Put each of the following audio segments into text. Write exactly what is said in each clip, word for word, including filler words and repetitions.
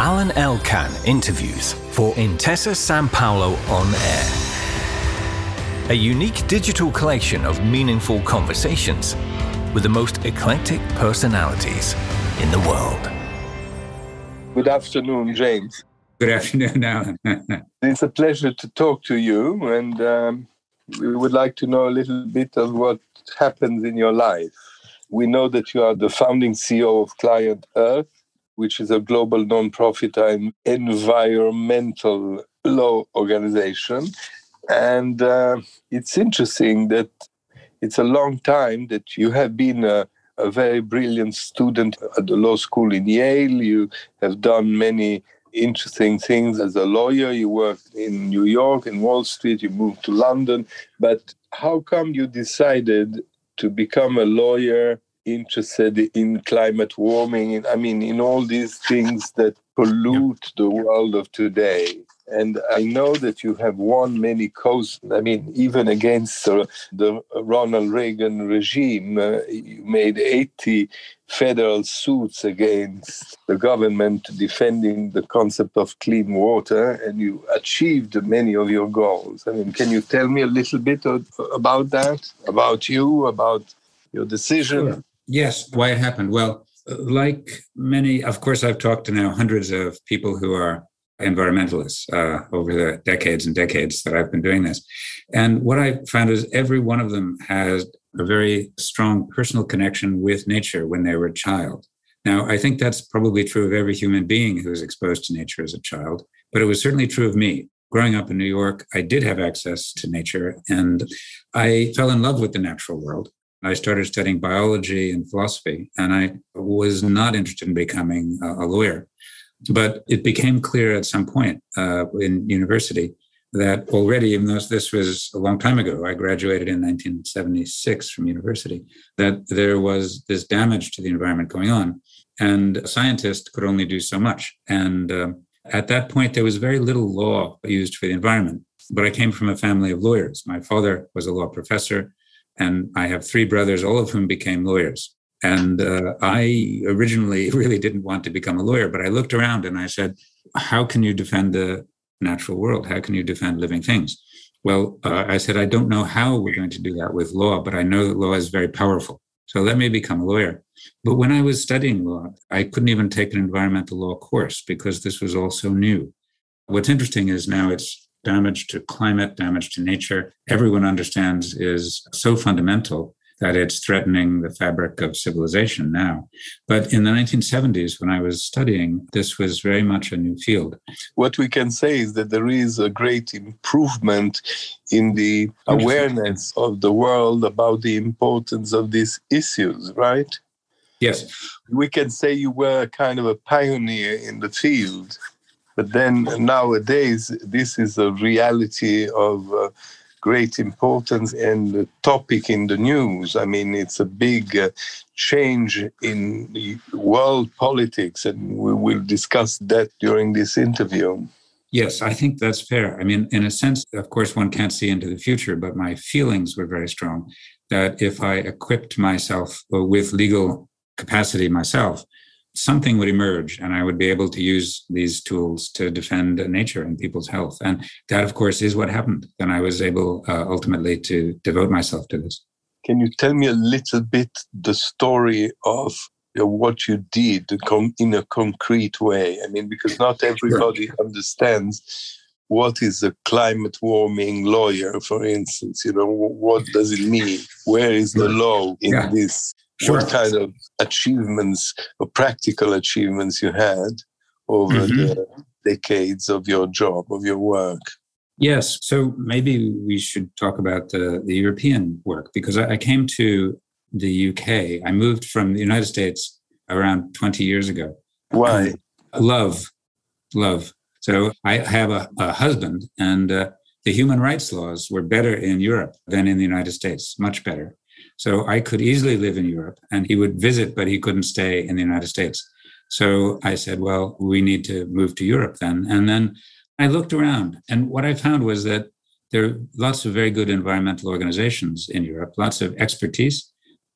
Alan Elkan interviews for Intesa Sanpaolo On Air. A unique digital collection of meaningful conversations with the most eclectic personalities in the world. Good afternoon, James. Good afternoon, Alan. It's a pleasure to talk to you, and um, we would like to know a little bit of what happens in your life. We know that you are the founding C E O of Client Earth, which is a global non-profit and environmental law organization. And uh, it's interesting that it's a long time that you have been a, a very brilliant student at the law school in Yale. You have done many interesting things as a lawyer. You worked in New York and Wall Street. You moved to London. But how come you decided to become a lawyer interested in climate warming? I mean, in all these things that pollute the world of today. And I know that you have won many causes. I mean, even against uh, the Ronald Reagan regime, uh, you made eighty federal suits against the government defending the concept of clean water, and you achieved many of your goals. I mean, can you tell me a little bit of, about that, about you, about your decision? Sure. Yes, why it happened. Well, like many, of course, I've talked to now hundreds of people who are environmentalists uh, over the decades and decades that I've been doing this. And what I found is every one of them has a very strong personal connection with nature when they were a child. Now, I think that's probably true of every human being who was exposed to nature as a child, but it was certainly true of me. Growing up in New York, I did have access to nature, and I fell in love with the natural world. I started studying biology and philosophy, and I was not interested in becoming a lawyer. But it became clear at some point uh, in university that already, even though this was a long time ago, I graduated in nineteen seventy-six from university, that there was this damage to the environment going on. And a scientist could only do so much. And uh, at that point, there was very little law used for the environment. But I came from a family of lawyers. My father was a law professor, and I have three brothers, all of whom became lawyers. And uh, I originally really didn't want to become a lawyer, but I looked around and I said, how can you defend the natural world? How can you defend living things? Well, uh, I said, I don't know how we're going to do that with law, but I know that law is very powerful. So let me become a lawyer. But when I was studying law, I couldn't even take an environmental law course because this was all so new. What's interesting is now it's damage to climate, damage to nature. Everyone understands is so fundamental that it's threatening the fabric of civilization now. But in the nineteen seventies, when I was studying, this was very much a new field. What we can say is that there is a great improvement in the awareness of the world about the importance of these issues, right? Yes. We can say you were kind of a pioneer in the field, but then nowadays, this is a reality of uh, great importance and the topic in the news. I mean, it's a big uh, change in the world politics, and we will discuss that during this interview. Yes, I think that's fair. I mean, in a sense, of course, one can't see into the future, but my feelings were very strong that if I equipped myself with legal capacity myself, something would emerge and I would be able to use these tools to defend nature and people's health. And that, of course, is what happened. And I was able uh, ultimately to devote myself to this. Can you tell me a little bit the story of you know, what you did in a concrete way? I mean, because not everybody sure. understands what is a climate warming lawyer, for instance. You know, what does it mean? Where is the law in yeah. this? Sure. What kind of achievements or practical achievements you had over mm-hmm. the decades of your job, of your work? Yes. So maybe we should talk about the, the European work, because I, I came to the U K. I moved from the United States around twenty years ago. Why? Um, love. Love. So I have a, a husband, and uh, the human rights laws were better in Europe than in the United States, much better. So I could easily live in Europe, and he would visit, but he couldn't stay in the United States. So I said, well, we need to move to Europe then. And then I looked around, and what I found was that there are lots of very good environmental organizations in Europe, lots of expertise,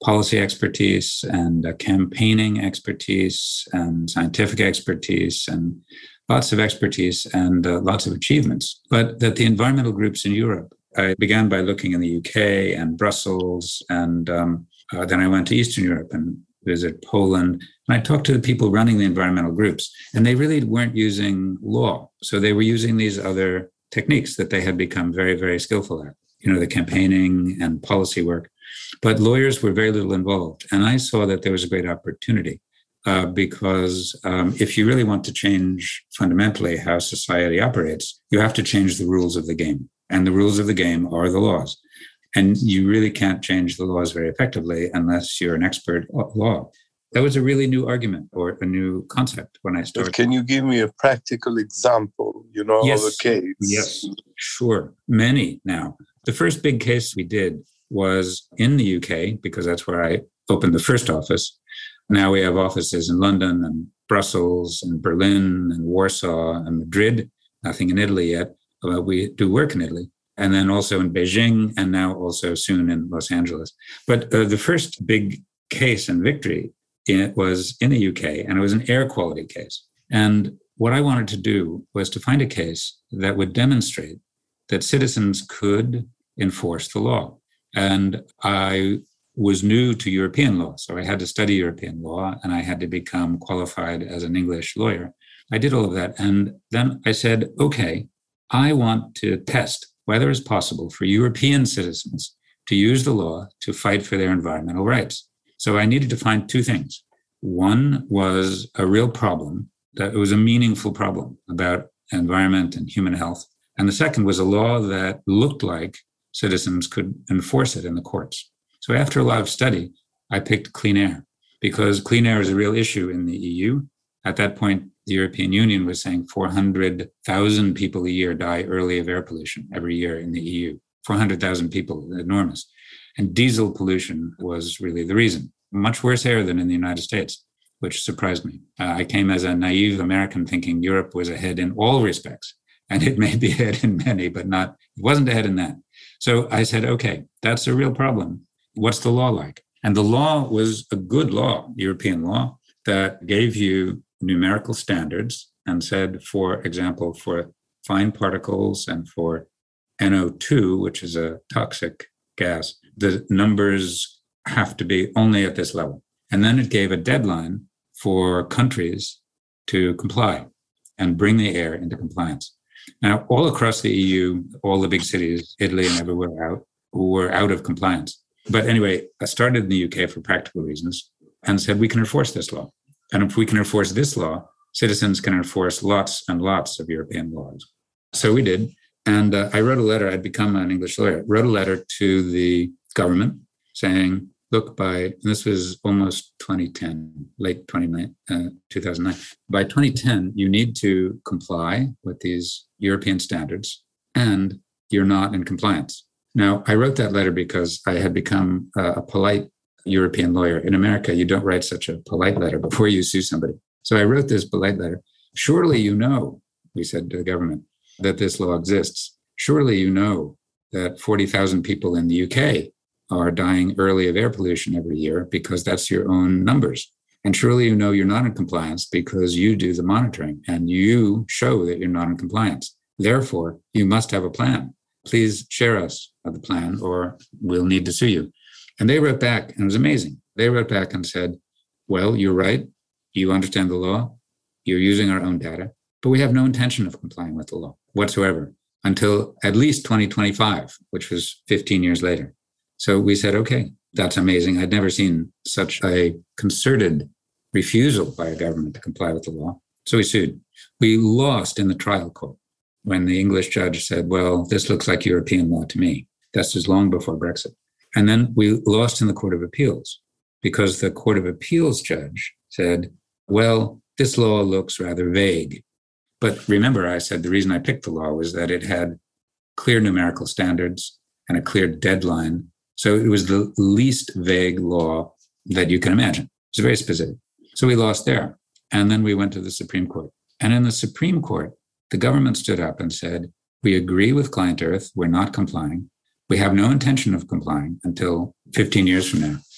policy expertise and uh, campaigning expertise and scientific expertise and lots of expertise and uh, lots of achievements. But that the environmental groups in Europe, I began by looking in the U K and Brussels, and um, uh, then I went to Eastern Europe and visited Poland. And I talked to the people running the environmental groups, and they really weren't using law. So they were using these other techniques that they had become very, very skillful at, you know, the campaigning and policy work. But lawyers were very little involved. And I saw that there was a great opportunity uh, because um, if you really want to change fundamentally how society operates, you have to change the rules of the game. And the rules of the game are the laws. And you really can't change the laws very effectively unless you're an expert at law. That was a really new argument or a new concept when I started. But can you give me a practical example, you know, yes. of a case? Yes, sure. Many now. The first big case we did was in the U K, because that's where I opened the first office. Now we have offices in London and Brussels and Berlin and Warsaw and Madrid, nothing in Italy yet. But we do work in Italy. And then also in Beijing, and now also soon in Los Angeles. But uh, the first big case and victory it was in the U K, and it was an air quality case. And what I wanted to do was to find a case that would demonstrate that citizens could enforce the law. And I was new to European law, so I had to study European law, and I had to become qualified as an English lawyer. I did all of that. And then I said, okay, I want to test whether it's possible for European citizens to use the law to fight for their environmental rights. So I needed to find two things. One was a real problem, that it was a meaningful problem about environment and human health. And the second was a law that looked like citizens could enforce it in the courts. So after a lot of study, I picked clean air because clean air is a real issue in the E U. At that point, the European Union was saying four hundred thousand people a year die early of air pollution every year in the E U. four hundred thousand people, enormous. And diesel pollution was really the reason. Much worse air than in the United States, which surprised me. Uh, I came as a naive American thinking Europe was ahead in all respects. And it may be ahead in many, but not, it wasn't ahead in that. So I said, okay, that's a real problem. What's the law like? And the law was a good law, European law, that gave you numerical standards and said, for example, for fine particles and for N O two, which is a toxic gas, the numbers have to be only at this level. And then it gave a deadline for countries to comply and bring the air into compliance. Now, all across the E U, all the big cities, Italy and everywhere out, were out of compliance. But anyway, I started in the U K for practical reasons and said, we can enforce this law. And if we can enforce this law, citizens can enforce lots and lots of European laws. So we did. And uh, I wrote a letter. I'd become an English lawyer, wrote a letter to the government saying, look, by, and this was almost twenty ten, late twenty-nine, uh, two thousand nine. By twenty ten, you need to comply with these European standards, and you're not in compliance. Now, I wrote that letter because I had become uh, a polite European lawyer. In America, you don't write such a polite letter before you sue somebody. So I wrote this polite letter. Surely you know, we said to the government, that this law exists. Surely you know that forty thousand people in the U K are dying early of air pollution every year because that's your own numbers. And surely you know you're not in compliance because you do the monitoring and you show that you're not in compliance. Therefore, you must have a plan. Please share us the plan or we'll need to sue you. And they wrote back, and it was amazing. They wrote back and said, well, you're right. You understand the law. You're using our own data, but we have no intention of complying with the law whatsoever until at least twenty twenty-five, which was fifteen years later. So we said, okay, that's amazing. I'd never seen such a concerted refusal by a government to comply with the law. So we sued. We lost in the trial court when the English judge said, well, this looks like European law to me. This was long before Brexit. And then we lost in the Court of Appeals because the Court of Appeals judge said, well, this law looks rather vague. But remember, I said the reason I picked the law was that it had clear numerical standards and a clear deadline. So it was the least vague law that you can imagine. It was very specific. So we lost there. And then we went to the Supreme Court. And in the Supreme Court, the government stood up and said, we agree with Client Earth. We're not complying. We have no intention of complying until fifteen years from now.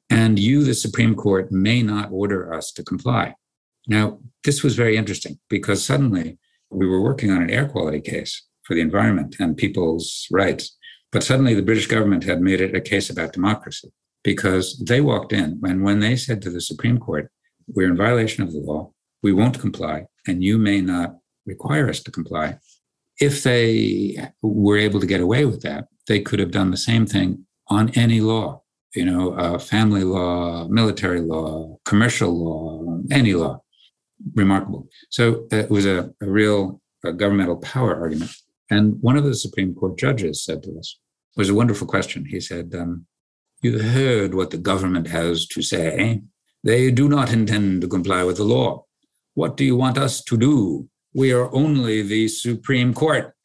and you, the Supreme Court, may not order us to comply. Now, this was very interesting because suddenly we were working on an air quality case for the environment and people's rights. But suddenly the British government had made it a case about democracy because they walked in and when they said to the Supreme Court, we're in violation of the law, we won't comply, and you may not require us to comply. If they were able to get away with that, they could have done the same thing on any law, you know, uh, family law, military law, commercial law, any law. Remarkable. So uh, it was a, a real a governmental power argument. And one of the Supreme Court judges said to us, it was a wonderful question. He said, um, you heard what the government has to say. They do not intend to comply with the law. What do you want us to do? We are only the Supreme Court.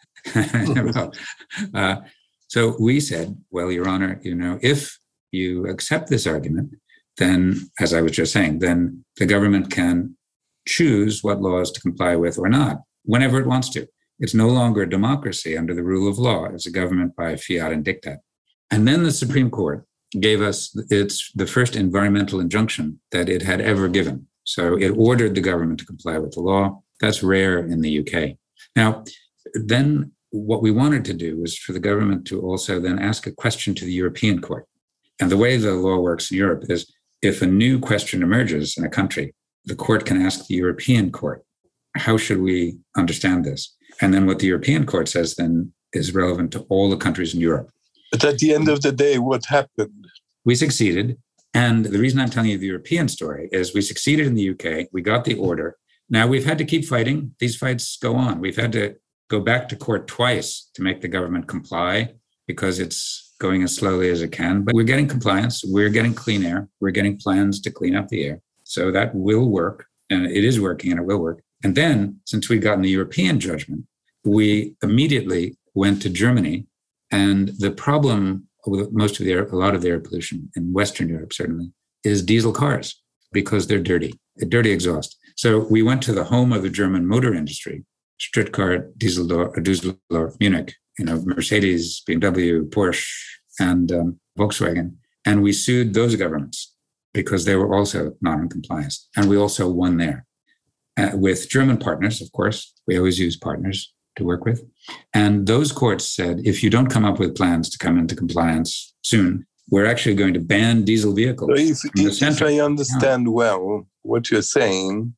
well, uh, so we said, well, Your Honor, you know, if you accept this argument, then, as I was just saying, then the government can choose what laws to comply with or not, whenever it wants to. It's no longer a democracy under the rule of law. It's a government by fiat and diktat. And then the Supreme Court gave us its the first environmental injunction that it had ever given. So it ordered the government to comply with the law. That's rare in the U K. Now, then what we wanted to do was for the government to also then ask a question to the European Court. And the way the law works in Europe is if a new question emerges in a country, the court can ask the European Court, how should we understand this? And then what the European Court says then is relevant to all the countries in Europe. But at the end of the day, what happened? We succeeded. And the reason I'm telling you the European story is we succeeded in the U K. We got the order. Now we've had to keep fighting. These fights go on. We've had to go back to court twice to make the government comply because it's going as slowly as it can. But we're getting compliance. We're getting clean air. We're getting plans to clean up the air. So that will work. And it is working and it will work. And then, since we'd gotten the European judgment, we immediately went to Germany. And the problem with most of the air, a lot of the air pollution in Western Europe, certainly, is diesel cars because they're dirty, dirty exhaust. So we went to the home of the German motor industry, Stuttgart, Düsseldorf, Düsseldorf Munich, you know, Mercedes, B M W, Porsche, and um, Volkswagen. And we sued those governments because they were also not in compliance. And we also won there. Uh, with German partners, of course, we always use partners to work with. And those courts said, if you don't come up with plans to come into compliance soon, we're actually going to ban diesel vehicles. So if, if, if I understand yeah. well, what you're saying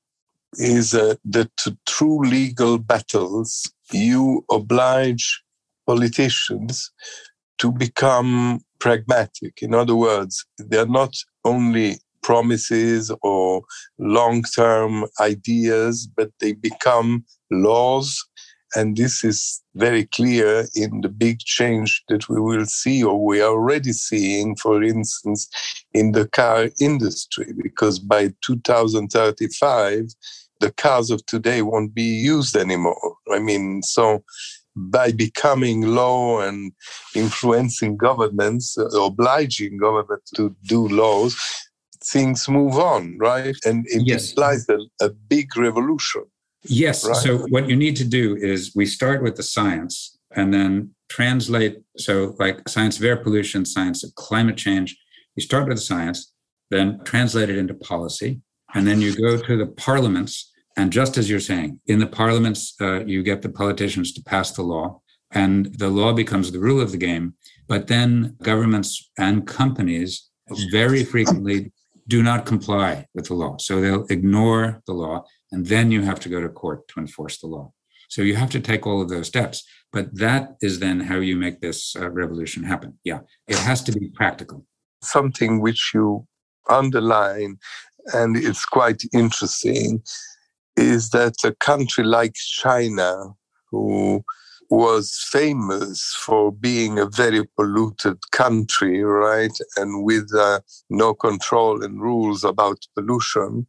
is uh, that to true legal battles, you oblige politicians to become pragmatic. In other words, they're not only promises or long-term ideas, but they become laws. And this is very clear in the big change that we will see, or we are already seeing, for instance, in the car industry, because by two thousand thirty-five, the cars of today won't be used anymore. I mean, so by becoming law and influencing governments, uh, obliging governments to do laws, things move on, right? And it yes. implies a, a big revolution. Yes. Right? So what you need to do is we start with the science and then translate. So like science of air pollution, science of climate change, you start with the science, then translate it into policy. And then you go to the parliaments. And just as you're saying, in the parliaments, uh, you get the politicians to pass the law and the law becomes the rule of the game. But then governments and companies very frequently do not comply with the law. So they'll ignore the law. And then you have to go to court to enforce the law. So you have to take all of those steps. But that is then how you make this uh, revolution happen. Yeah, it has to be practical. Something which you underline, and it's quite interesting, is that a country like China, who was famous for being a very polluted country, right, and with uh, no control and rules about pollution,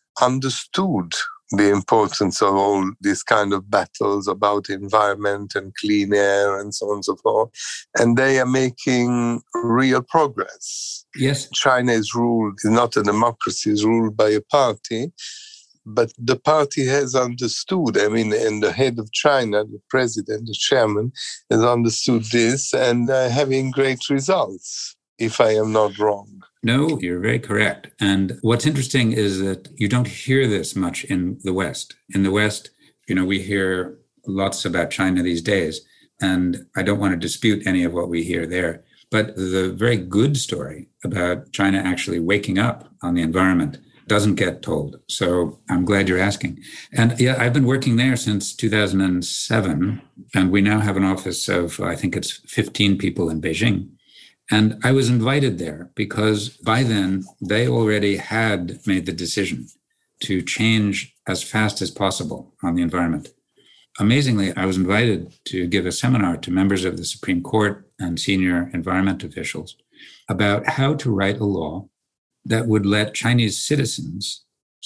understood the importance of all these kind of battles about environment and clean air and so on and so forth. And they are making real progress. Yes. China is ruled, is not a democracy, is ruled by a party, but the party has understood, I mean, and the head of China, the president, the chairman, has understood this and uh, having great results, if I am not wrong. No, you're very correct. And what's interesting is that you don't hear this much in the West. In the West, you know, we hear lots about China these days, and I don't want to dispute any of what we hear there. But the very good story about China actually waking up on the environment doesn't get told. So I'm glad you're asking. And yeah, I've been working there since two thousand seven, and we now have an office of, I think it's fifteen people in Beijing. And I was invited there because by then they already had made the decision to change as fast as possible on the environment. Amazingly, I was invited to give a seminar to members of the Supreme Court and senior environment officials about how to write a law that would let Chinese citizens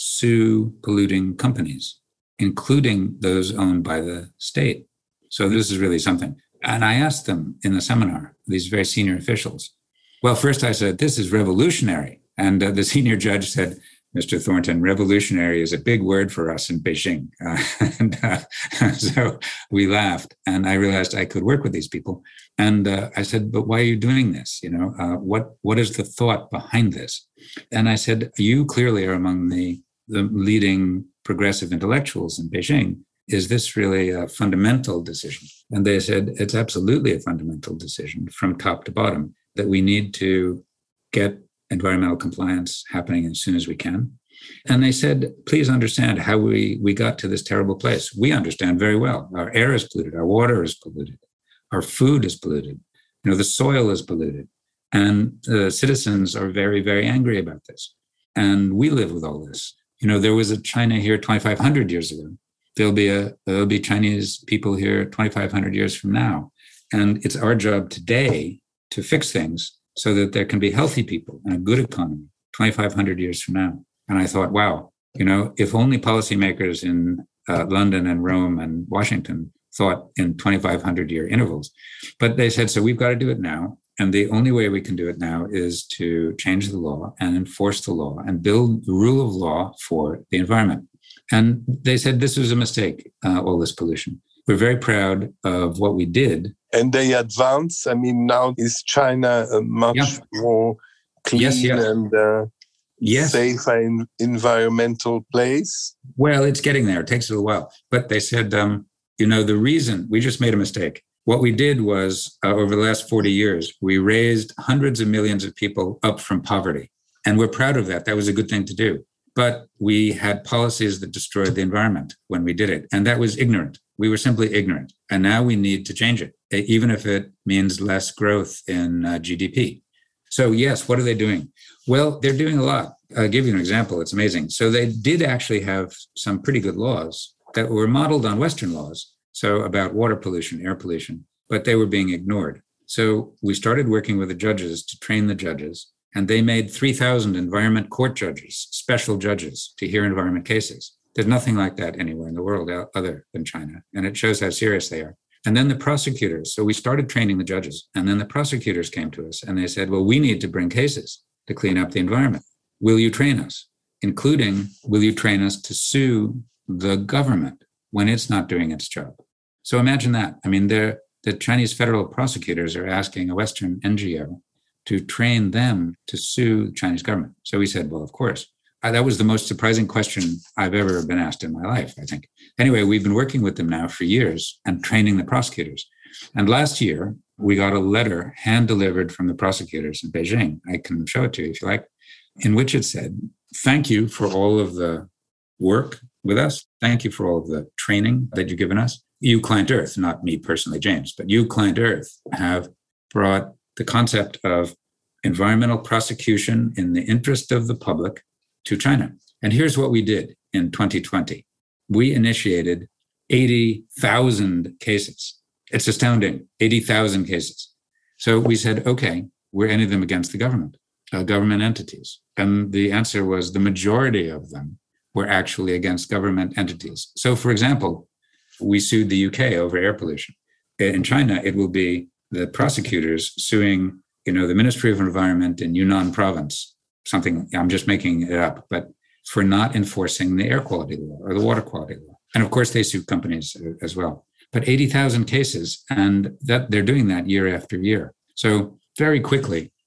sue polluting companies, including those owned by the state. So this is really something. And I asked them in the seminar, these very senior officials, well, first I said, this is revolutionary. And uh, the senior judge said, Mister Thornton, revolutionary is a big word for us in Beijing. Uh, and uh, so we laughed, and I realized I could work with these people. And uh, I said, but why are you doing this? You know, uh, what what is the thought behind this? And I said, you clearly are among the, the leading progressive intellectuals in Beijing. Is this really a fundamental decision? And they said, it's absolutely a fundamental decision from top to bottom, that we need to get environmental compliance happening as soon as we can. And they said, please understand how we, we got to this terrible place. We understand very well. Our air is polluted. Our water is polluted. Our food is polluted. You know, the soil is polluted. And the citizens are very, very angry about this. And we live with all this. You know, there was a China here twenty-five hundred years ago. There'll be a there'll be Chinese people here twenty-five hundred years from now. And it's our job today to fix things so that there can be healthy people and a good economy twenty-five hundred years from now. And I thought, wow, you know, if only policymakers in uh, London and Rome and Washington thought in twenty-five hundred year intervals. But they said, so we've got to do it now. And the only way we can do it now is to change the law and enforce the law and build the rule of law for the environment. And they said this was a mistake, uh, all this pollution. We're very proud of what we did. And they advance. I mean, now is China a much yeah. more clean yes, yes. and uh, yes. safe and environmental place? Well, it's getting there. It takes a little while. But they said, um, you know, the reason we just made a mistake. What we did was uh, over the last forty years, we raised hundreds of millions of people up from poverty. And we're proud of that. That was a good thing to do. But we had policies that destroyed the environment when we did it. And that was ignorant. We were simply ignorant. And now we need to change it, even if it means less growth in uh, G D P. So yes, what are they doing? Well, they're doing a lot. I'll give you an example. It's amazing. So they did actually have some pretty good laws that were modeled on Western laws. So about water pollution, air pollution, but they were being ignored. So we started working with the judges to train the judges. And they made three thousand environment court judges, special judges, to hear environment cases. There's nothing like that anywhere in the world other than China. And it shows how serious they are. And then the prosecutors. So we started training the judges. And then the prosecutors came to us and they said, well, we need to bring cases to clean up the environment. Will you train us? Including, will you train us to sue the government when it's not doing its job? So imagine that. I mean, the Chinese federal prosecutors are asking a Western N G O to train them to sue the Chinese government. So we said, well, of course. Uh, that was the most surprising question I've ever been asked in my life, I think. Anyway, we've been working with them now for years and training the prosecutors. And last year, we got a letter hand-delivered from the prosecutors in Beijing. I can show it to you if you like, in which it said, thank you for all of the work with us. Thank you for all of the training that you've given us. You, Client Earth, not me personally, James, but you, Client Earth, have brought the concept of environmental prosecution in the interest of the public to China. And here's what we did in twenty twenty. We initiated eighty thousand cases. It's astounding, eighty thousand cases. So we said, okay, were any of them against the government, uh, government entities? And the answer was the majority of them were actually against government entities. So for example, we sued the U K over air pollution. In China, it will be the prosecutors suing, you know, the Ministry of Environment in Yunnan province, something, I'm just making it up, but for not enforcing the air quality law or the water quality law. And of course, they sue companies as well. But eighty thousand cases, and that they're doing that year after year. So very quickly,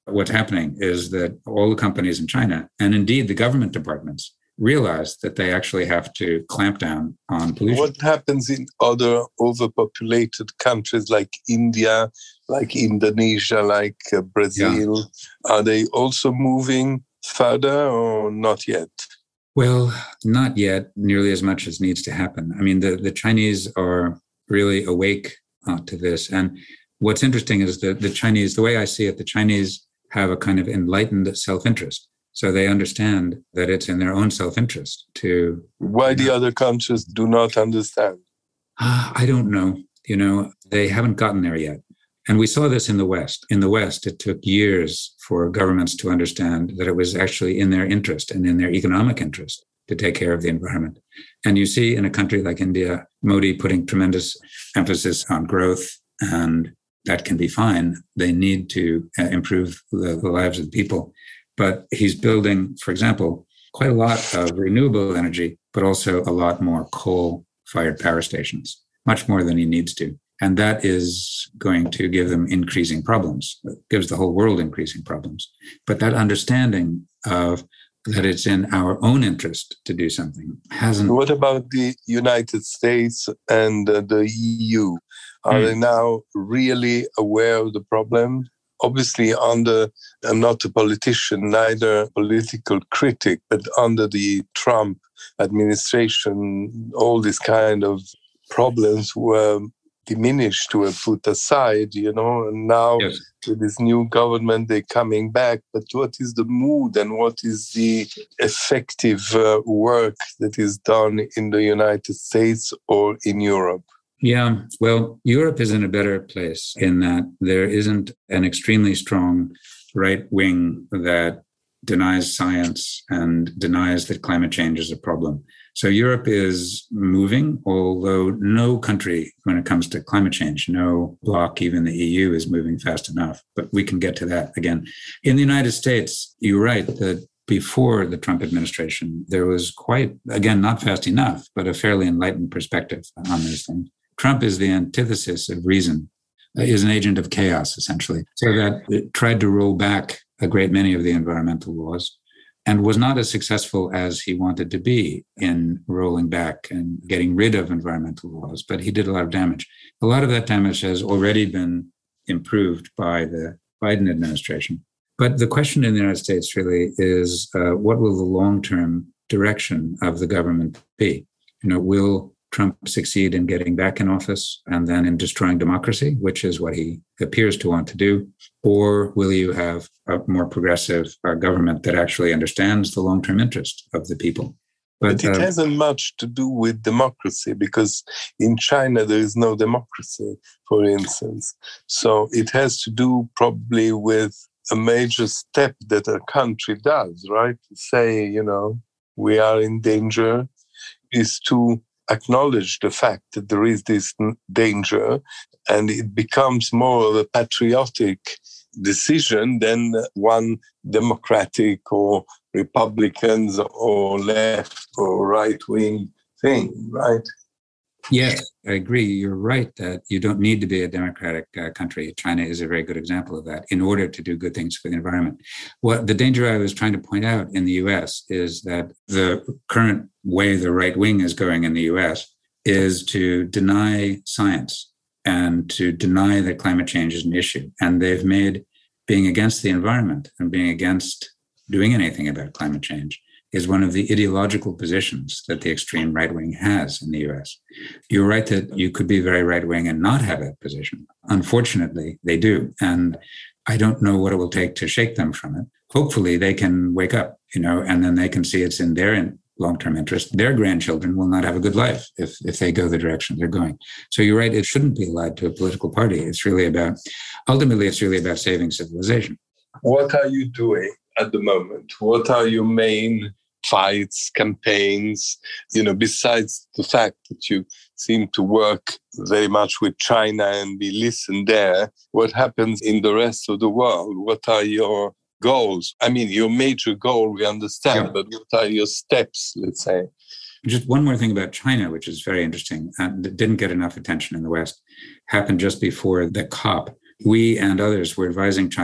what's happening is that all the companies in China, and indeed the government departments, realize that they actually have to clamp down on pollution. What happens in other overpopulated countries like India, like Indonesia, like uh, Brazil? Yeah. Are they also moving further or not yet? Well, not yet nearly as much as needs to happen. I mean, the, the Chinese are really awake uh, to this. And what's interesting is that the Chinese, the way I see it, the Chinese have a kind of enlightened self-interest. So they understand that it's in their own self-interest to... Why the other countries do not understand? Uh, I don't know. You know, they haven't gotten there yet. And we saw this in the West. In the West, it took years for governments to understand that it was actually in their interest and in their economic interest to take care of the environment. And you see in a country like India, Modi putting tremendous emphasis on growth, and that can be fine. They need to uh, improve the, the lives of the people. But he's building, for example, quite a lot of renewable energy, but also a lot more coal-fired power stations, much more than he needs to. And that is going to give them increasing problems. It gives the whole world increasing problems. But that understanding of that it's in our own interest to do something hasn't... What about the United States and uh, the E U? Are mm. they now really aware of the problem? Obviously, under, I'm not a politician, neither a political critic, but under the Trump administration, all these kind of problems were diminished, were put aside, you know, and now yes. with this new government, they're coming back. But what is the mood and what is the effective uh, work that is done in the United States or in Europe? Yeah, well, Europe is in a better place in that there isn't an extremely strong right wing that denies science and denies that climate change is a problem. So Europe is moving, although no country, when it comes to climate change, no bloc, even the E U, is moving fast enough. But we can get to that again. In the United States, you're right that before the Trump administration, there was quite, again, not fast enough, but a fairly enlightened perspective on these things. Trump is the antithesis of reason, is an agent of chaos, essentially. So that it tried to roll back a great many of the environmental laws and was not as successful as he wanted to be in rolling back and getting rid of environmental laws, but he did a lot of damage. A lot of that damage has already been improved by the Biden administration. But the question in the United States really is, uh, what will the long-term direction of the government be? You know, will Trump succeed in getting back in office and then in destroying democracy, which is what he appears to want to do? Or will you have a more progressive uh, government that actually understands the long-term interest of the people? But, but it uh, hasn't much to do with democracy, because in China there is no democracy, for instance. So it has to do probably with a major step that a country does, right? To say, you know, we are in danger, is to acknowledge the fact that there is this danger, and it becomes more of a patriotic decision than one democratic or Republicans or left or right-wing thing, right? Yes, I agree. You're right that you don't need to be a democratic uh, country. China is a very good example of that in order to do good things for the environment. What the danger I was trying to point out in the U S is that the current way the right wing is going in the U S is to deny science and to deny that climate change is an issue. And they've made being against the environment and being against doing anything about climate change is one of the ideological positions that the extreme right wing has in the U S. You're right that you could be very right wing and not have that position. Unfortunately, they do. And I don't know what it will take to shake them from it. Hopefully they can wake up, you know, and then they can see it's in their long-term interest. Their grandchildren will not have a good life if, if they go the direction they're going. So you're right, it shouldn't be allied to a political party. It's really about, ultimately, it's really about saving civilization. What are you doing at the moment? What are your main fights, campaigns, you know, besides the fact that you seem to work very much with China and be listened there, what happens in the rest of the world? What are your goals? I mean, your major goal, we understand, yeah. But what are your steps, let's say? Just one more thing about China, which is very interesting, and that didn't get enough attention in the West, happened just before the COP. We and others were advising China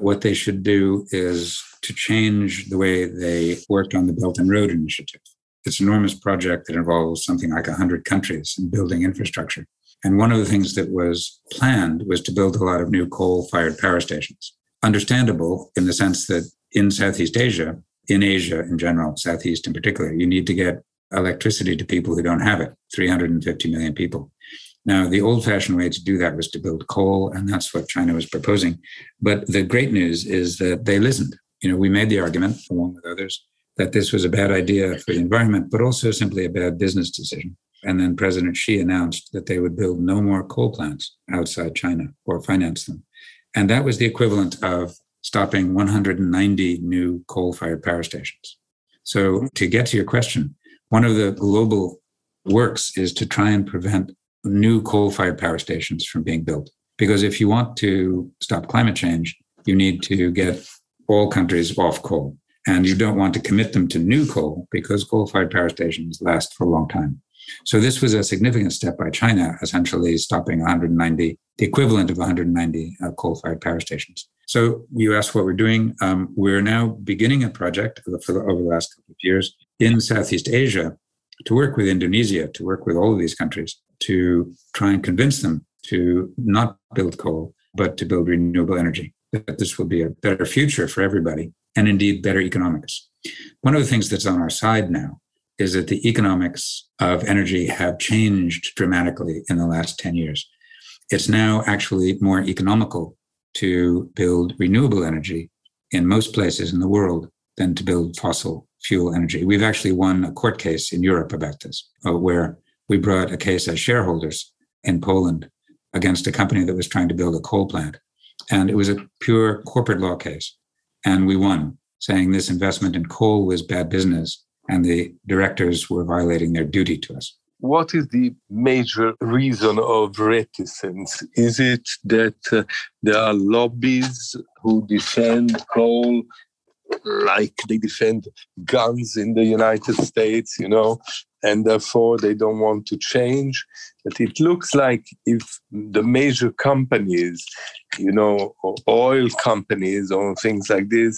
what they should do is to change the way they worked on the Belt and Road Initiative. It's an enormous project that involves something like one hundred countries in building infrastructure. And one of the things that was planned was to build a lot of new coal-fired power stations. Understandable in the sense that in Southeast Asia, in Asia in general, Southeast in particular, you need to get electricity to people who don't have it, three hundred fifty million people. Now, the old-fashioned way to do that was to build coal, and that's what China was proposing. But the great news is that they listened. You know, we made the argument, along with others, that this was a bad idea for the environment, but also simply a bad business decision. And then President Xi announced that they would build no more coal plants outside China or finance them. And that was the equivalent of stopping one hundred ninety new coal-fired power stations. So to get to your question, one of the global works is to try and prevent new coal-fired power stations from being built. Because if you want to stop climate change, you need to get all countries off coal. And you don't want to commit them to new coal because coal-fired power stations last for a long time. So this was a significant step by China, essentially stopping one hundred ninety, the equivalent of one hundred ninety uh, coal-fired power stations. So you asked what we're doing. Um, we're now beginning a project for the, for the, over the last couple of years in Southeast Asia to work with Indonesia, to work with all of these countries, to try and convince them to not build coal, but to build renewable energy, that this will be a better future for everybody, and indeed better economics. One of the things that's on our side now is that the economics of energy have changed dramatically in the last ten years. It's now actually more economical to build renewable energy in most places in the world than to build fossil fuel energy. We've actually won a court case in Europe about this, uh, where we brought a case as shareholders in Poland against a company that was trying to build a coal plant. And it was a pure corporate law case. And we won, saying this investment in coal was bad business and the directors were violating their duty to us. What is the major reason of reticence? Is it that uh, there are lobbies who defend coal like they defend guns in the United States, you know, and therefore they don't want to change? But it looks like if the major companies, you know, or oil companies or things like this,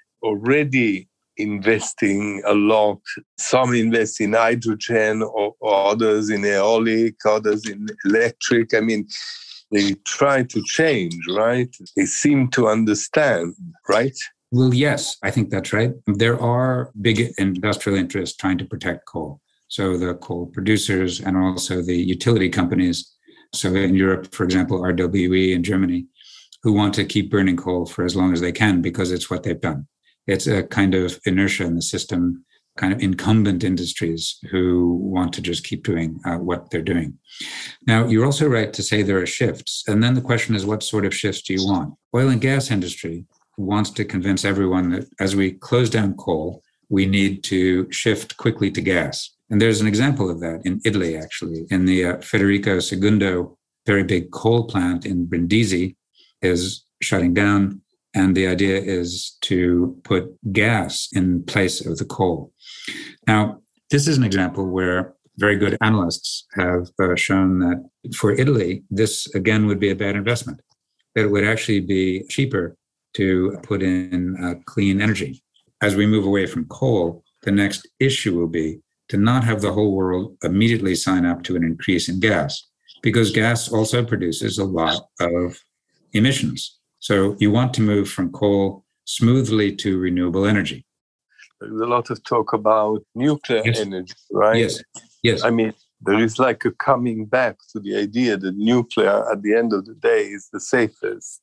already investing a lot. Some invest in hydrogen or, or others in aeolic, others in electric. I mean, they try to change, right? They seem to understand, right? Well, yes, I think that's right. There are big industrial interests trying to protect coal. So the coal producers and also the utility companies. So in Europe, for example, R W E in Germany, who want to keep burning coal for as long as they can because it's what they've done. It's a kind of inertia in the system, kind of incumbent industries who want to just keep doing uh, what they're doing. Now, you're also right to say there are shifts. And then the question is, what sort of shifts do you want? Oil and gas industry wants to convince everyone that as we close down coal, we need to shift quickly to gas. And there's an example of that in Italy, actually, in the uh, Federico Segundo, very big coal plant in Brindisi is shutting down. And the idea is to put gas in place of the coal. Now, this is an example where very good analysts have uh, shown that for Italy, this again would be a bad investment, that it would actually be cheaper to put in uh, clean energy. As we move away from coal, the next issue will be to not have the whole world immediately sign up to an increase in gas, because gas also produces a lot of emissions. So you want to move from coal smoothly to renewable energy. There's a lot of talk about nuclear yes. energy, right? Yes, yes. I mean, there is like a coming back to the idea that nuclear at the end of the day is the safest.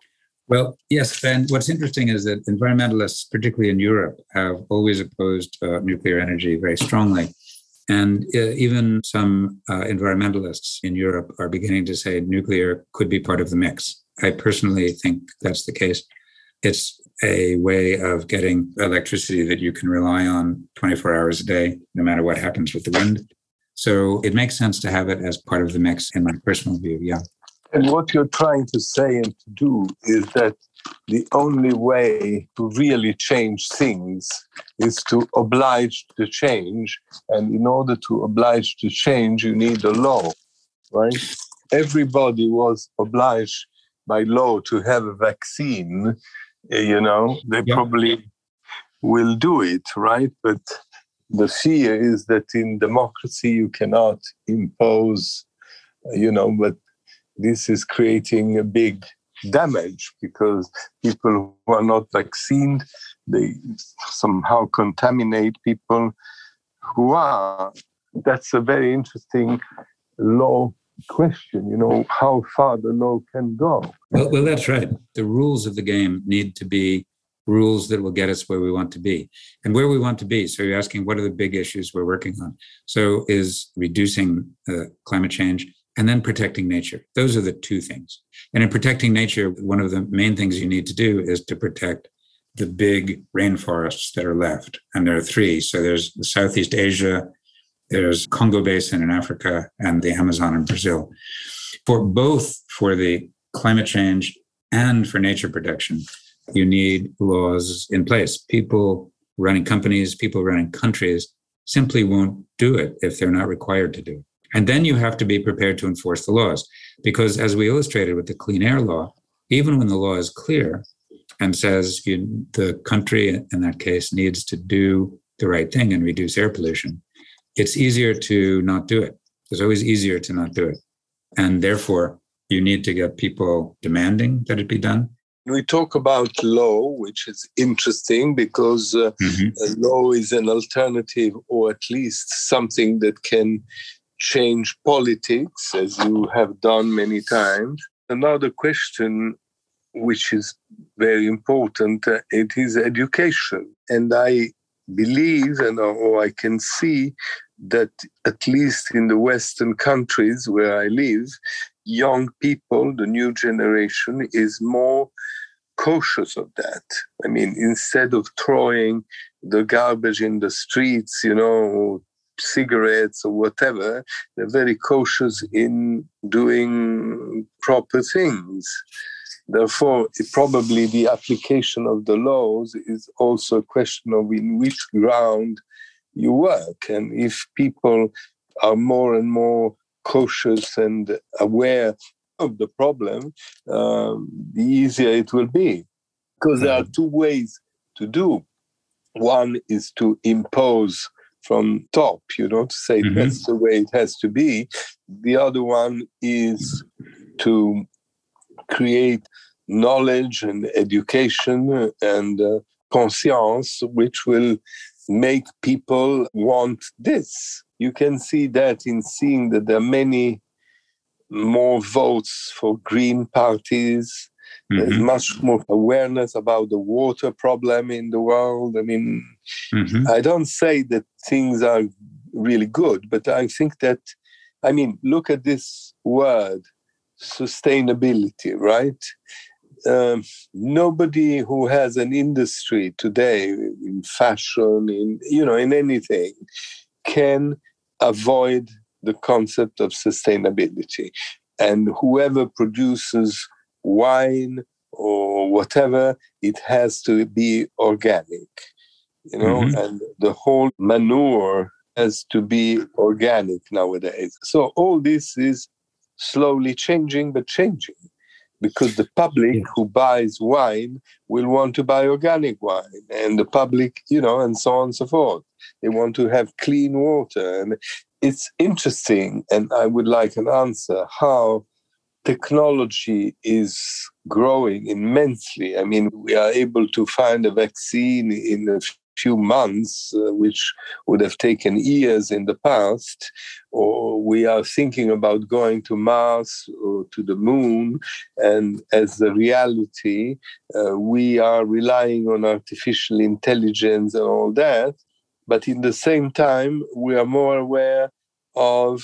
Well, yes. And what's interesting is that environmentalists, particularly in Europe, have always opposed uh, nuclear energy very strongly. And uh, even some uh, environmentalists in Europe are beginning to say nuclear could be part of the mix. I personally think that's the case. It's a way of getting electricity that you can rely on twenty-four hours a day, no matter what happens with the wind. So it makes sense to have it as part of the mix, in my personal view, yeah. And what you're trying to say and to do is that the only way to really change things is to oblige the change. And in order to oblige the change, you need a law, right? Everybody was obliged by law to have a vaccine you know, they yeah. probably will do it, right? But the fear is that in democracy you cannot impose, you know, but this is creating a big damage because people who are not vaccinated, they somehow contaminate people who are. That's a very interesting law question, you know, how far the law can go. Well, well, that's right. The rules of the game need to be rules that will get us where we want to be. And where we want to be, so you're asking, what are the big issues we're working on? So is reducing uh, climate change and then protecting nature. Those are the two things. And in protecting nature, one of the main things you need to do is to protect the big rainforests that are left. And there are three. So there's the Southeast Asia, there's Congo Basin in Africa, and the Amazon in Brazil. For both for the climate change and for nature protection, you need laws in place. People running companies, people running countries simply won't do it if they're not required to do it. And then you have to be prepared to enforce the laws. Because as we illustrated with the Clean Air Law, even when the law is clear and says you, the country in that case needs to do the right thing and reduce air pollution, it's easier to not do it. It's always easier to not do it. And therefore, you need to get people demanding that it be done. We talk about law, which is interesting because uh, mm-hmm. law is an alternative, or at least something that can change politics, as you have done many times. Another question, which is very important, uh, it is education. And I believe, and or I can see that at least in the Western countries where I live, young people, the new generation, is more cautious of that. I mean, instead of throwing the garbage in the streets, you know, cigarettes or whatever, they're very cautious in doing proper things. Therefore, it, probably the application of the laws is also a question of in which ground you work. And if people are more and more cautious and aware of the problem, um, the easier it will be. Because there are two ways to do. One is to impose from top, you know, to say mm-hmm. that's the way it has to be. The other one is to create knowledge and education and uh, conscience, which will make people want this. You can see that in seeing that there are many more votes for green parties. Mm-hmm. There's much more awareness about the water problem in the world. I mean, mm-hmm. I don't say that things are really good, but I think that, I mean, look at this word, sustainability, right? Um, nobody who has an industry today in fashion, in, you know, in anything, can avoid the concept of sustainability. And whoever produces wine or whatever, it has to be organic, you know, mm-hmm. and the whole manure has to be organic nowadays. So all this is slowly changing, but changing, because the public yeah. who buys wine will want to buy organic wine, and the public, you know, and so on and so forth. They want to have clean water. And it's interesting, and I would like an answer, how technology is growing immensely. I mean, we are able to find a vaccine in a few months, uh, which would have taken years in the past, or we are thinking about going to Mars or to the moon, and as a reality, uh, we are relying on artificial intelligence and all that, but in the same time, we are more aware of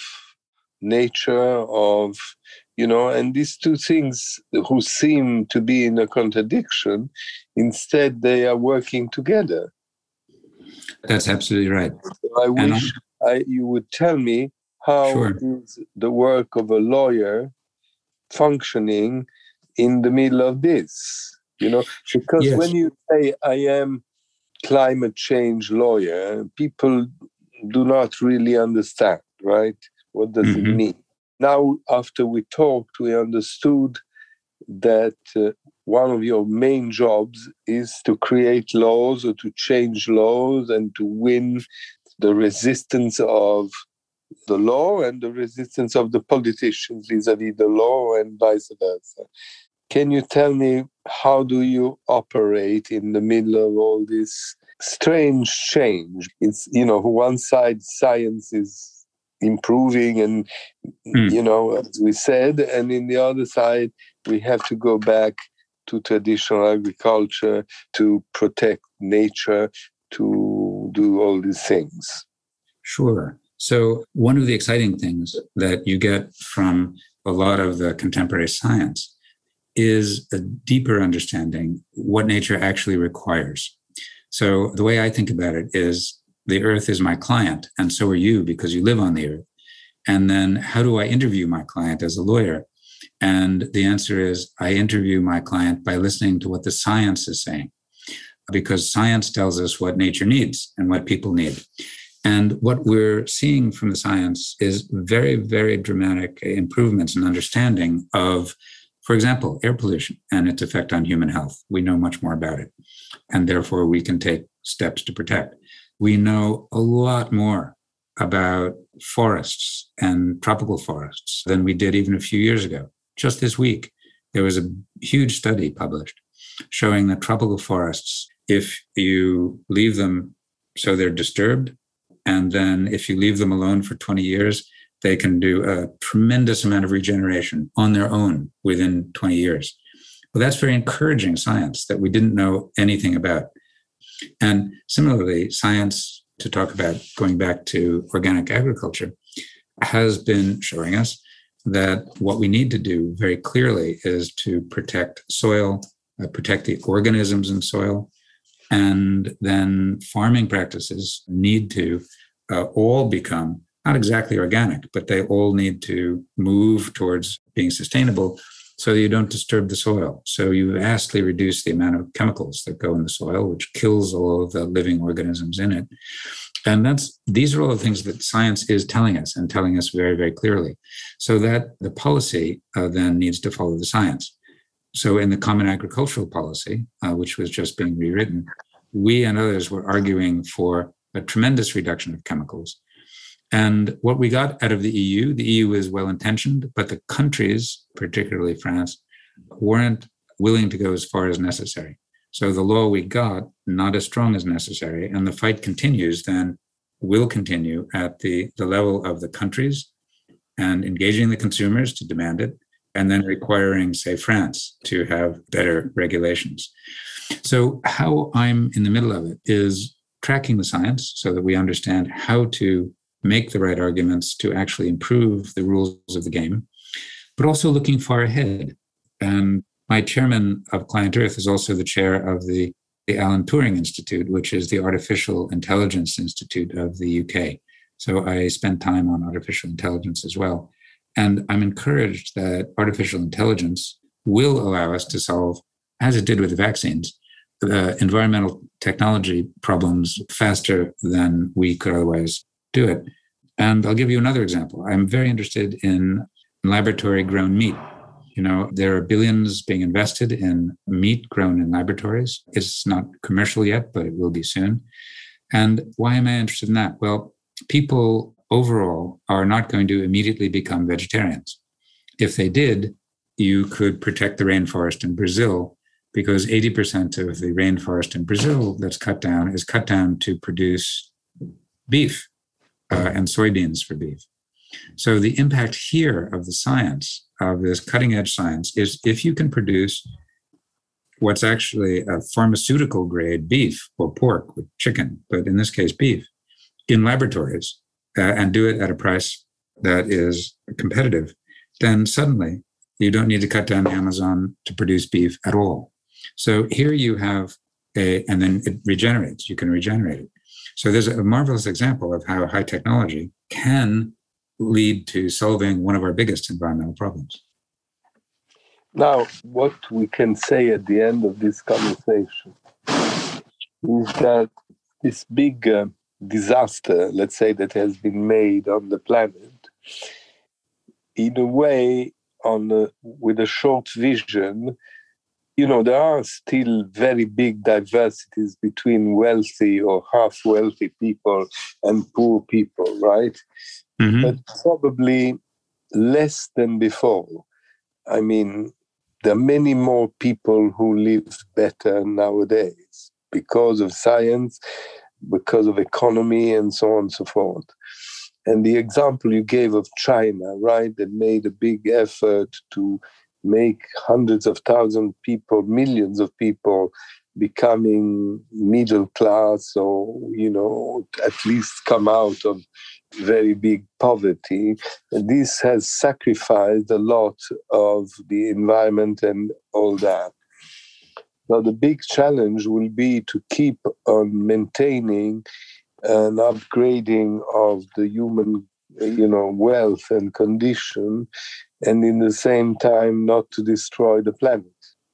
nature, of, you know, and these two things who seem to be in a contradiction, instead they are working together. That's absolutely right. So I wish I, you would tell me how sure. is the work of a lawyer functioning in the middle of this, you know, because yes. when you say I am climate change lawyer, people do not really understand, right? What does mm-hmm. it mean? Now, after we talked, we understood that uh, one of your main jobs is to create laws or to change laws and to win the resistance of the law and the resistance of the politicians vis-a-vis the law and vice versa. Can you tell me, how do you operate in the middle of all this strange change? It's, you know, one side science is improving and, mm. you know, as we said, and in the other side, we have to go back to traditional agriculture, to protect nature, to do all these things. Sure. So one of the exciting things that you get from a lot of the contemporary science is a deeper understanding what nature actually requires. So the way I think about it is the earth is my client, and so are you because you live on the earth. And then how do I interview my client as a lawyer? And the answer is I interview my client by listening to what the science is saying, because science tells us what nature needs and what people need. And what we're seeing from the science is very, very dramatic improvements in understanding of, for example, air pollution and its effect on human health. We know much more about it, and therefore we can take steps to protect. We know a lot more about forests and tropical forests than we did even a few years ago. Just this week, there was a huge study published showing that tropical forests, if you leave them so they're disturbed, and then if you leave them alone for twenty years, they can do a tremendous amount of regeneration on their own within twenty years. Well, that's very encouraging science that we didn't know anything about. And similarly, science, to talk about going back to organic agriculture, has been showing us that what we need to do very clearly is to protect soil, uh, protect the organisms in soil, and then farming practices need to uh, all become not exactly organic, but they all need to move towards being sustainable so that you don't disturb the soil. So you vastly reduce the amount of chemicals that go in the soil, which kills all of the living organisms in it. And that's these are all the things that science is telling us and telling us very, very clearly. So that the policy uh, then needs to follow the science. So in the Common Agricultural Policy, uh, which was just being rewritten, we and others were arguing for a tremendous reduction of chemicals. And what we got out of the E U, the E U is well-intentioned, but the countries, particularly France, weren't willing to go as far as necessary. So the law we got, not as strong as necessary, and the fight continues, then will continue at the, the level of the countries and engaging the consumers to demand it, and then requiring, say, France to have better regulations. So how I'm in the middle of it is tracking the science so that we understand how to make the right arguments to actually improve the rules of the game, but also looking far ahead. And my chairman of Client Earth is also the chair of the, the Alan Turing Institute, which is the Artificial Intelligence Institute of the U K. So I spend time on artificial intelligence as well. And I'm encouraged that artificial intelligence will allow us to solve, as it did with the vaccines, the environmental technology problems faster than we could otherwise do it. And I'll give you another example. I'm very interested in laboratory-grown meat. You know, there are billions being invested in meat grown in laboratories. It's not commercial yet, but it will be soon. And why am I interested in that? Well, people overall are not going to immediately become vegetarians. If they did, you could protect the rainforest in Brazil, because eighty percent of the rainforest in Brazil that's cut down is cut down to produce beef uh, and soybeans for beef. So the impact here of the science, of this cutting edge science, is if you can produce what's actually a pharmaceutical grade beef or pork with chicken, but in this case, beef, in laboratories, uh, and do it at a price that is competitive, then suddenly you don't need to cut down the Amazon to produce beef at all. So here you have a, and then it regenerates, you can regenerate it. So there's a marvelous example of how high technology can lead to solving one of our biggest environmental problems. Now, what we can say at the end of this conversation is that this big uh, disaster, let's say, that has been made on the planet, in a way, on a, with a short vision, you know, there are still very big diversities between wealthy or half-wealthy people and poor people, right? Mm-hmm. But probably less than before. I mean, there are many more people who live better nowadays because of science, because of economy, and so on and so forth. And the example you gave of China, right, that made a big effort to make hundreds of thousands of people, millions of people becoming middle class, or, you know, at least come out of very big poverty. And this has sacrificed a lot of the environment and all that. Now, the big challenge will be to keep on maintaining an upgrading of the human, you know, wealth and condition, and in the same time not to destroy the planet.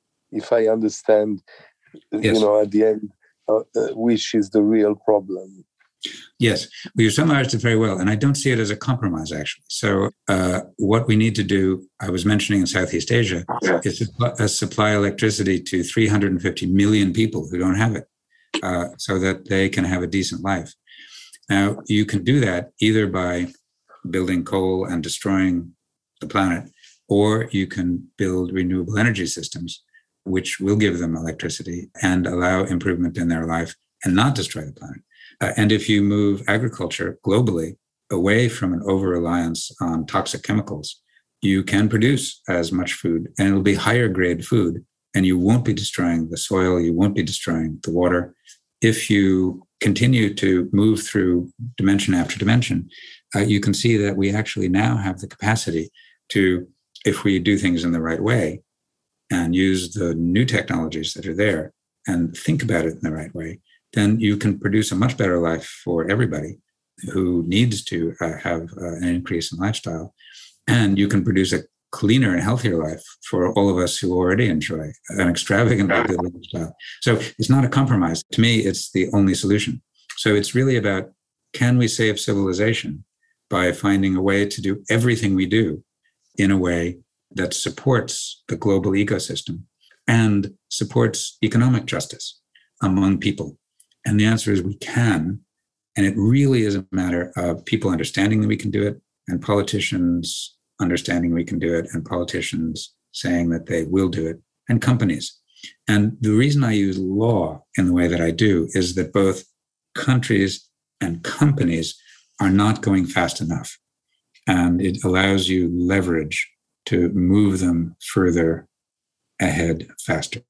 If I understand, yes. you know, at the end, uh, uh, which is the real problem. Yes, well, you summarized it very well, and I don't see it as a compromise, actually. So uh, what we need to do, I was mentioning in Southeast Asia, yeah. is to uh, supply electricity to three hundred fifty million people who don't have it, uh, so that they can have a decent life. Now, you can do that either by building coal and destroying the planet, or you can build renewable energy systems, which will give them electricity and allow improvement in their life and not destroy the planet. Uh, and if you move agriculture globally away from an over-reliance on toxic chemicals, you can produce as much food, and it'll be higher grade food, and you won't be destroying the soil, you won't be destroying the water. If you continue to move through dimension after dimension, uh, you can see that we actually now have the capacity to, if we do things in the right way and use the new technologies that are there and think about it in the right way, then you can produce a much better life for everybody who needs to uh, have uh, an increase in lifestyle. And you can produce a cleaner and healthier life for all of us who already enjoy an extravagantly good lifestyle. So it's not a compromise. To me, it's the only solution. So it's really about, can we save civilization by finding a way to do everything we do in a way that supports the global ecosystem and supports economic justice among people? And the answer is we can. And it really is a matter of people understanding that we can do it, and politicians understanding we can do it, and politicians saying that they will do it, and companies. And the reason I use law in the way that I do is that both countries and companies are not going fast enough. And it allows you leverage to move them further ahead faster.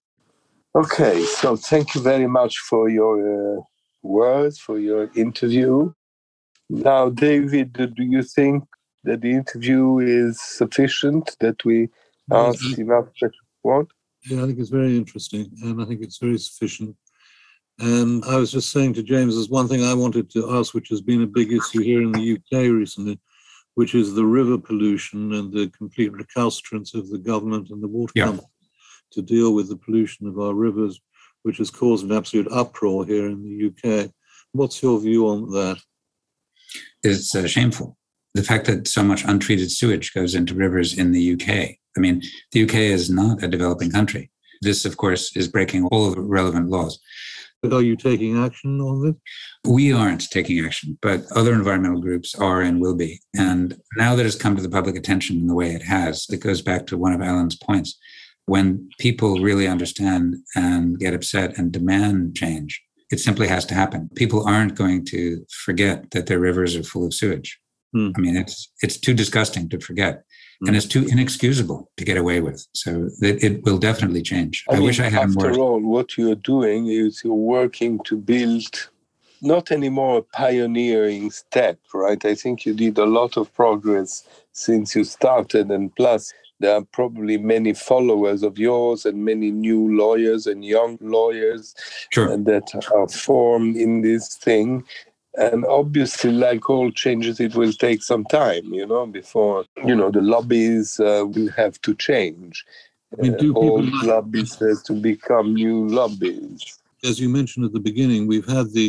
Okay, so thank you very much for your uh, words, for your interview. Now, David, do you think that the interview is sufficient, that we asked yes, enough that you want? Yeah, I think it's very interesting, and I think it's very sufficient. And I was just saying to James, there's one thing I wanted to ask, which has been a big issue here in the U K recently, which is the river pollution and the complete recalcitrance of the government and the water yeah. company to deal with the pollution of our rivers, which has caused an absolute uproar here in the U K. What's your view on that? It's uh, shameful. The fact that so much untreated sewage goes into rivers in the U K. I mean, the U K is not a developing country. This, of course, is breaking all of the relevant laws. But are you taking action on this? We aren't taking action, but other environmental groups are and will be. And now that it's come to the public attention in the way it has, it goes back to one of Alan's points. When people really understand and get upset and demand change, it simply has to happen. People aren't going to forget that their rivers are full of sewage. Hmm. I mean, it's it's too disgusting to forget. Hmm. And it's too inexcusable to get away with. So it, it will definitely change. I, I mean, wish I had after more. After all, what you're doing is you're working to build not anymore a pioneering step, right? I think you did a lot of progress since you started, and plus there are probably many followers of yours and many new lawyers and young lawyers sure. that are formed in this thing. And obviously, like all changes, it will take some time, you know, before, you know, the lobbies uh, will have to change. I mean, do uh, old people... lobbies have to become new lobbies. As you mentioned at the beginning, we've had the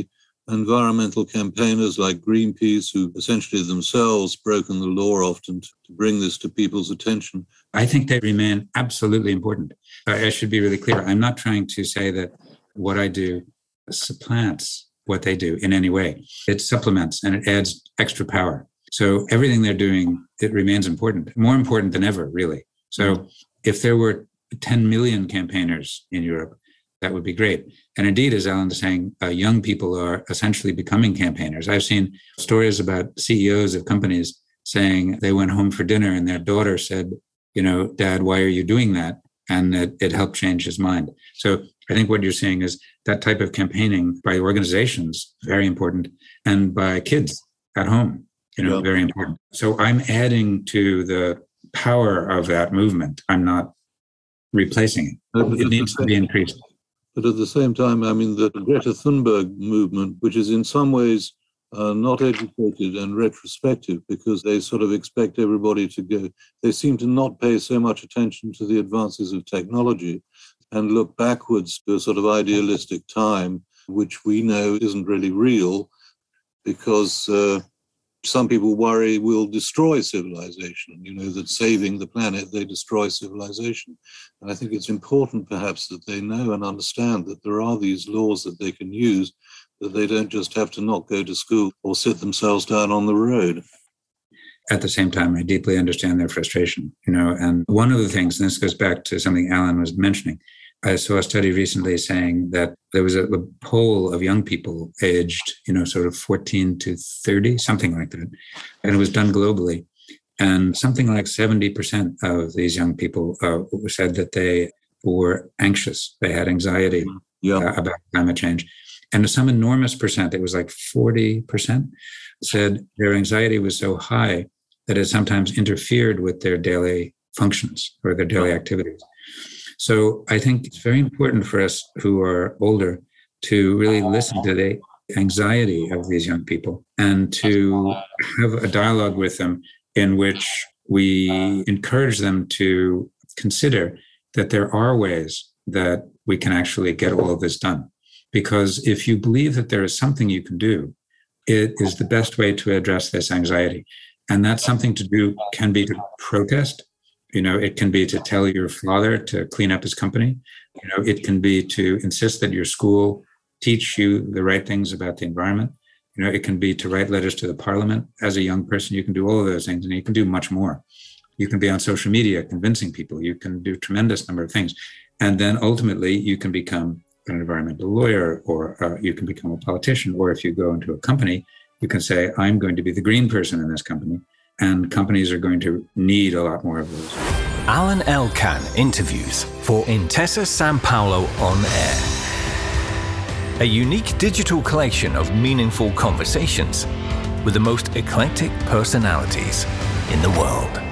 environmental campaigners like Greenpeace, who essentially themselves broken the law often to, to bring this to people's attention? I think they remain absolutely important. I should be really clear. I'm not trying to say that what I do supplants what they do in any way. It supplements and it adds extra power. So everything they're doing, it remains important, more important than ever, really. So if there were ten million campaigners in Europe, that would be great. And indeed, as Alan is saying, uh, young people are essentially becoming campaigners. I've seen stories about C E Os of companies saying they went home for dinner and their daughter said, you know, Dad, why are you doing that? And it, it helped change his mind. So I think what you're saying is that type of campaigning by organizations, very important, and by kids at home, you know, yeah. very important. So I'm adding to the power of that movement. I'm not replacing it. But it needs to be increased. But at the same time, I mean, the Greta Thunberg movement, which is in some ways uh, not educated and retrospective, because they sort of expect everybody to go, they seem to not pay so much attention to the advances of technology and look backwards to a sort of idealistic time, which we know isn't really real, because uh, some people worry will destroy civilization, you know, that saving the planet, they destroy civilization. And I think it's important perhaps that they know and understand that there are these laws that they can use, that they don't just have to not go to school or sit themselves down on the road. At the same time, I deeply understand their frustration, you know, and one of the things, and this goes back to something Alan was mentioning, I saw a study recently saying that there was a, a poll of young people aged, you know, sort of fourteen to thirty, something like that. And it was done globally. And something like seventy percent of these young people uh, said that they were anxious. They had anxiety yeah. uh, about climate change. And some enormous percent, it was like forty percent, said their anxiety was so high that it sometimes interfered with their daily functions or their daily activities. So I think it's very important for us who are older to really listen to the anxiety of these young people and to have a dialogue with them in which we encourage them to consider that there are ways that we can actually get all of this done. Because if you believe that there is something you can do, it is the best way to address this anxiety. And that something to do can be to protest. You know, it can be to tell your father to clean up his company. You know, it can be to insist that your school teach you the right things about the environment. You know, it can be to write letters to the parliament. As a young person, you can do all of those things, and you can do much more. You can be on social media convincing people. You can do a tremendous number of things. And then ultimately, you can become an environmental lawyer, or uh, you can become a politician. Or if you go into a company, you can say, I'm going to be the green person in this company. And companies are going to need a lot more of those. Alan Elkann interviews for Intesa Sanpaolo On Air. A unique digital collection of meaningful conversations with the most eclectic personalities in the world.